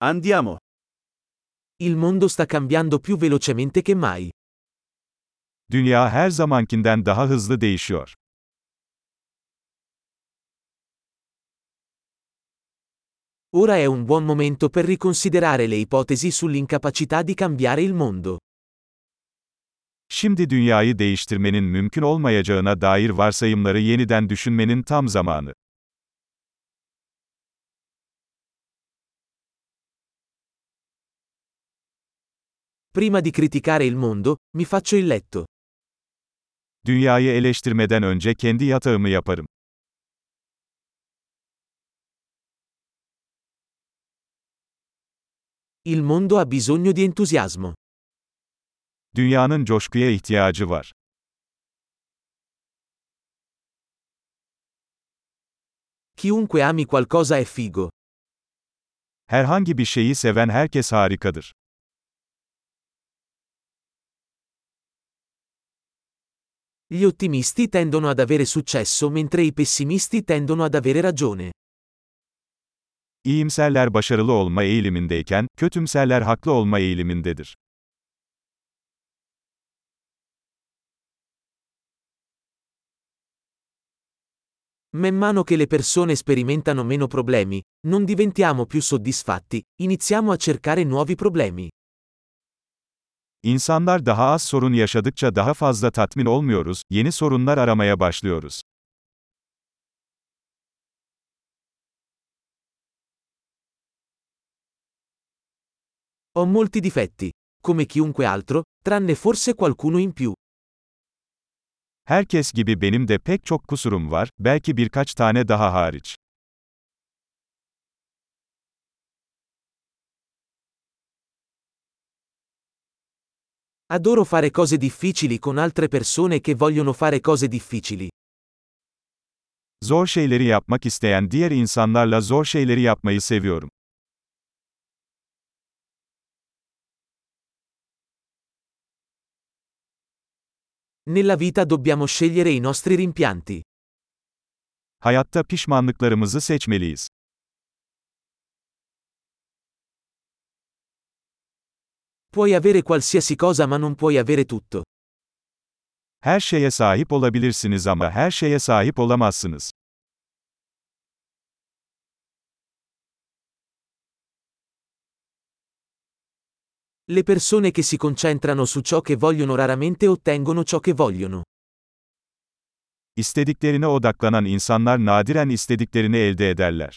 Andiamo. Il mondo sta cambiando più velocemente che mai. Dünya her zamankinden daha hızlı değişiyor. Ora è un buon momento per riconsiderare le ipotesi sull'incapacità di cambiare il mondo. Şimdi dünyayı değiştirmenin mümkün olmayacağına dair varsayımları yeniden düşünmenin tam zamanı. Prima di criticare il mondo, mi faccio il letto. Dünyayı eleştirmeden önce kendi yatağımı yaparım. Il mondo ha bisogno di entusiasmo. Dünyanın coşkuya ihtiyacı var. Chiunque ami qualcosa è figo. Herhangi bir şeyi seven herkes harikadır. Gli ottimisti tendono ad avere successo mentre i pessimisti tendono ad avere ragione. İyimserler başarılı olma eğilimindeyken, kötümserler haklı olma eğilimindedir. Man mano che le persone sperimentano meno problemi, non diventiamo più soddisfatti, iniziamo a cercare nuovi problemi. İnsanlar daha az sorun yaşadıkça daha fazla tatmin olmuyoruz, yeni sorunlar aramaya başlıyoruz. Ho molti difetti, come chiunque altro, tranne forse qualcuno in più. Herkes gibi benim de pek çok kusurum var, belki birkaç tane daha hariç. Adoro fare cose difficili con altre persone che vogliono fare cose difficili. Zor şeyleri yapmak isteyen diğer insanlarla zor şeyleri yapmayı seviyorum. Nella vita dobbiamo scegliere i nostri rimpianti. Hayatta pişmanlıklarımızı seçmeliyiz. Puoi avere qualsiasi cosa ma non puoi avere tutto. Her şeye sahip olabilirsiniz ama her şeye sahip olamazsınız. Le persone che si concentrano su ciò che vogliono raramente ottengono ciò che vogliono. İstediklerine odaklanan insanlar nadiren istediklerini elde ederler.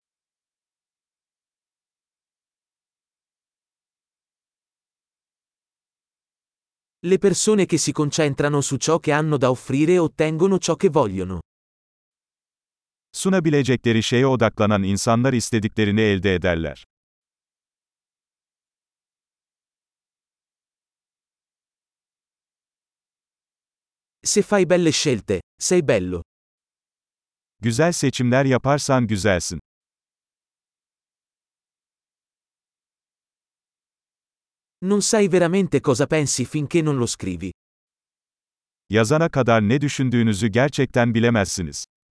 Le persone che si concentrano su ciò che hanno da offrire ottengono ciò che vogliono. Sunabilecekleri şeye odaklanan insanlar istediklerini elde ederler. Se fai belle scelte, sei bello. Güzel seçimler yaparsan güzelsin. Non sai veramente cosa pensi finché non lo scrivi. Yazana kadar ne düşündüğünüzü gerçekten bilemezsiniz.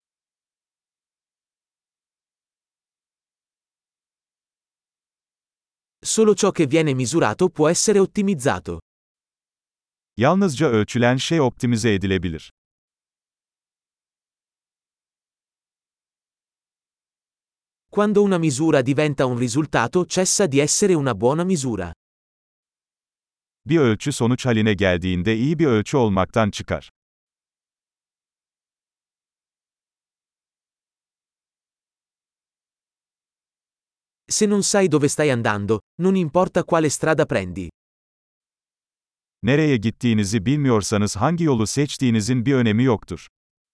Solo ciò che viene misurato può essere ottimizzato. Yalnızca ölçülen şey optimize edilebilir. Quando una misura diventa un risultato cessa di essere una buona misura. Bir ölçü sonuç haline geldiğinde iyi bir ölçü olmaktan çıkar. Se non sai dove stai andando, non importa quale strada prendi. Nereye gittiğinizi bilmiyorsanız hangi yolu seçtiğinizin bir önemi yoktur.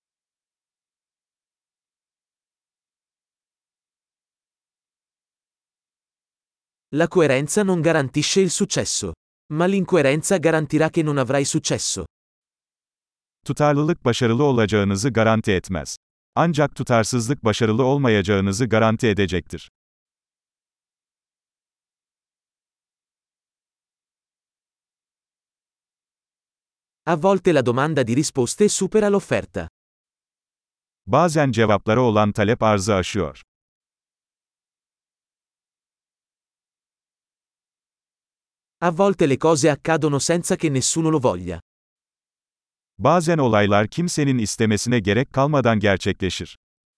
La coerenza non garantisce il successo. Ma l'incoerenza garantirà che non avrai successo. Tutarlılık başarılı olacağınızı garanti etmez. Ancak tutarsızlık başarılı olmayacağınızı garanti edecektir. A volte la domanda di risposte supera l'offerta. Bazen cevaplara olan talep arzı aşıyor. A volte le cose accadono senza che nessuno lo voglia. Bazen olaylar kimsenin istemesine gerek kalmadan gerçekleşir.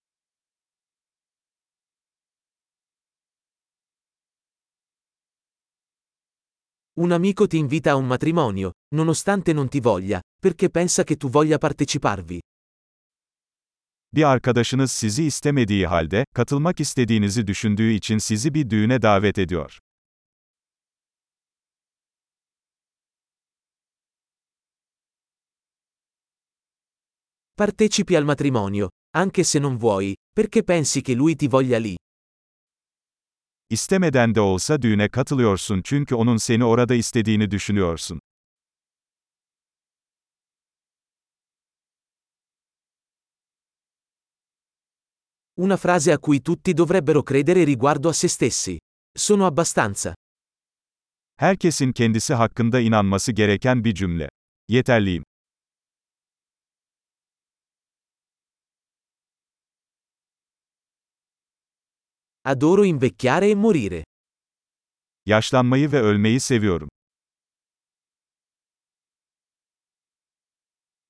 Un amico ti invita a un matrimonio, nonostante non ti voglia, perché pensa che tu voglia parteciparvi. Bir arkadaşınız sizi istemediği halde, katılmak istediğinizi düşündüğü için sizi bir düğüne davet ediyor. Partecipi al matrimonio, anche se non vuoi, perché pensi che lui ti voglia lì. İstemeden de olsa düğüne katılıyorsun çünkü onun seni orada istediğini düşünüyorsun. Una frase a cui tutti dovrebbero credere riguardo a se stessi. Sono abbastanza. Herkesin kendisi hakkında inanması gereken bir cümle. Yeterliyim. Adoro invecchiare e morire. Yaşlanmayı ve ölmeyi seviyorum.